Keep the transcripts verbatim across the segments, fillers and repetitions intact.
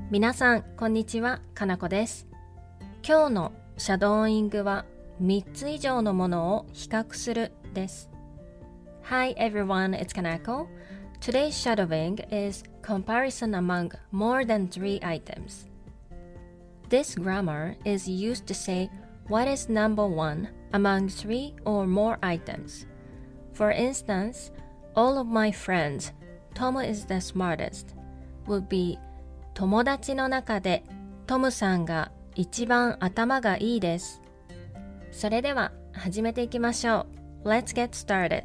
皆さんこんにちは、かなこです。今日のシャドーイングはみっつ以上のものを比較するです。Hi everyone, it's Kanako. Today's shadowing is comparison among more than three items. This grammar is used to say what is number one among three or more items. For instance, all of my friends, Tom is the smartest, would be 友達の中でトムさんが一番頭がいいです。それでは始めていきましょう。Let's get started.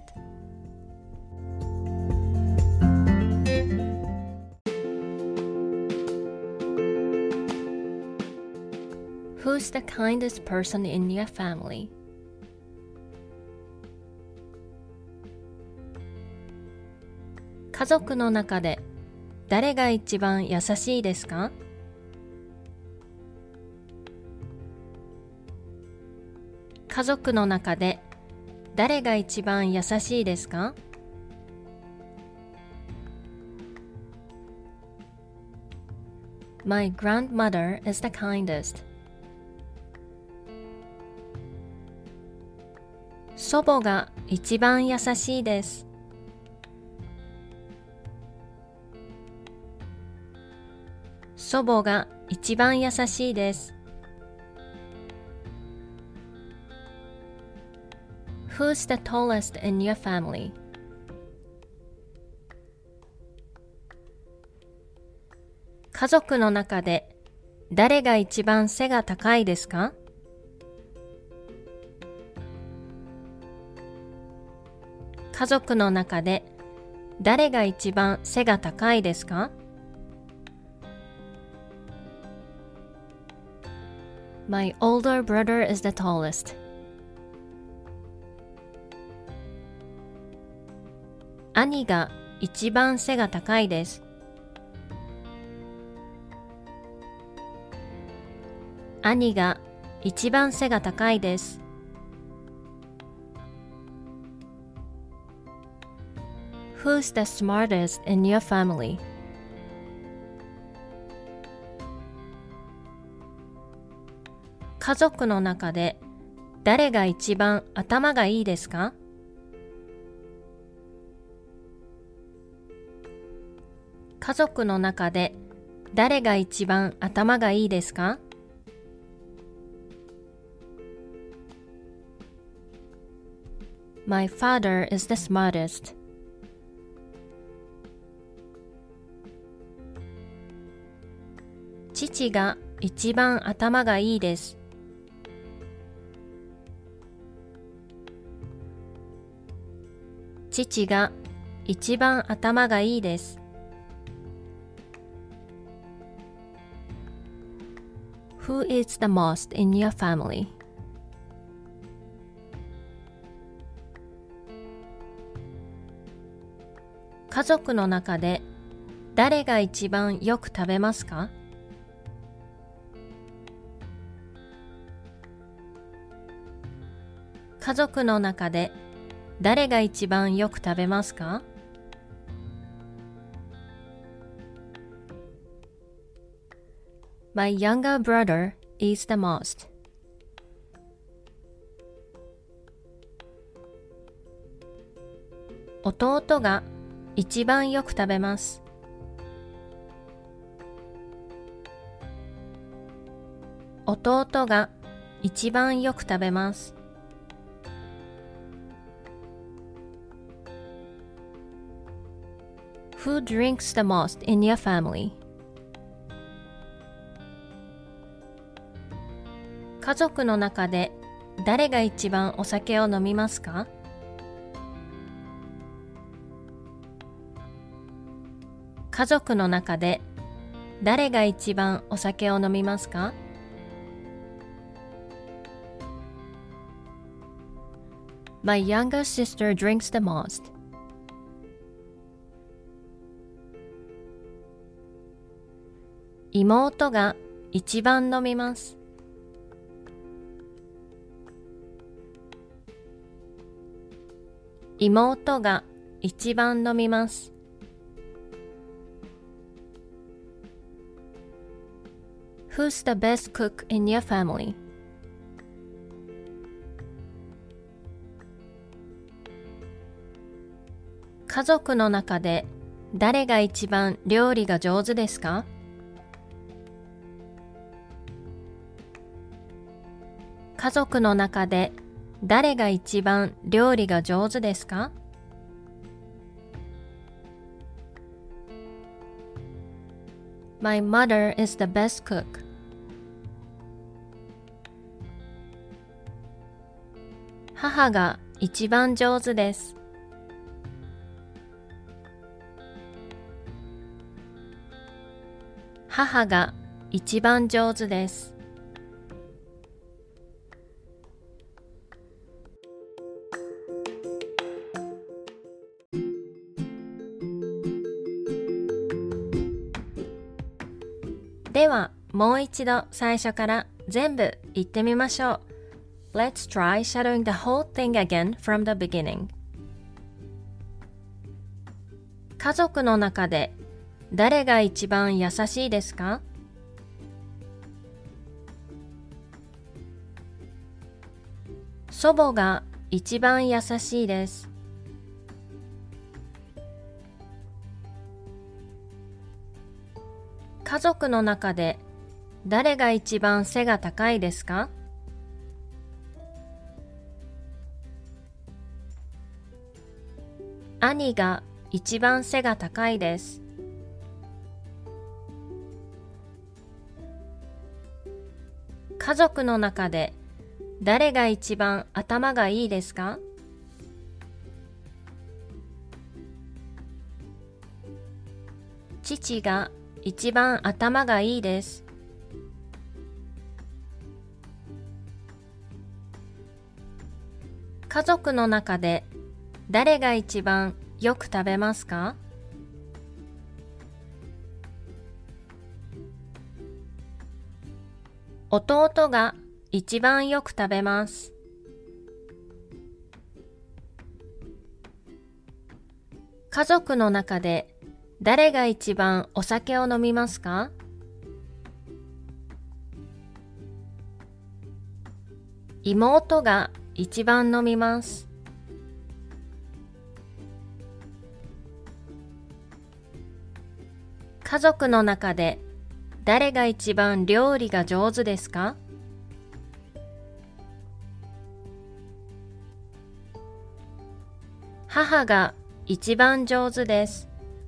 Who's the kindest person in your family? 家族の中で誰が一番優しいですか？家族の中で誰が一番優しいですか？ My grandmother is the kindest. 祖母が一番優しいです。祖母が一番優しいです。Who's the tallest in your family? 家族の中で誰が一番背が高いですか？家族の中で誰が一番背が高いですか？ My older brother is the tallest. 兄が一番背が高いです。兄が一番背が高いです。Who's the smartest in your family? 家族の中で誰が一番頭がいいですか？家族の中で誰が一番頭がいいですか？ My father is the smartest. 父が一番頭がいいです。父が一番頭がいいです。Who eats the most in your family? 家族の中で誰が一番よく食べますか？家族の中で誰が一番よく食べますか？ My younger brother eats the most. 弟が一番よく食べます。弟が一番よく食べます。Who drinks the most in your family? 家族の中で誰が一番お酒を飲みますか？家族の中で誰が一番お酒を飲みますか？ My younger sister drinks the most. 妹が一番飲みます。妹が一番飲みます。 Who's the best cook in your family? 家族の中で誰が一番料理が上手ですか？家族の中で誰が一番料理が上手ですか？ My mother is the best cook. 母が一番上手です。母が一番上手です。では、もう一度最初から全部言ってみましょう。Let's try shadowing the whole thing again from the beginning. 家族の中で誰が一番優しいですか？祖母が一番優しいです。家族の中で誰が一番背が高いですか？兄が一番背が高いです。家族の中で誰が一番頭がいいですか？父が一番頭がいいです。家族の中で誰が一番よく食べますか？弟が一番よく食べます。家族の中で誰が一番お酒を飲みますか？妹が一番飲みます。家族の中で誰が一番料理が上手ですか？母が一番上手です。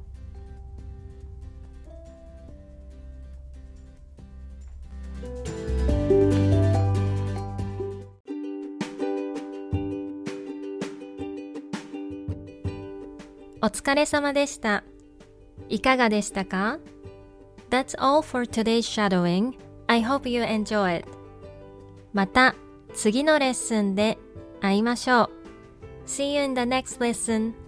お疲れ様でした。いかがでしたか？ That's all for today's shadowing. I hope you enjoy it. また次のレッスンで会いましょう。See you in the next lesson.